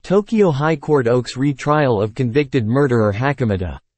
Tokyo High Court Oaks retrial of convicted murderer Hakamada.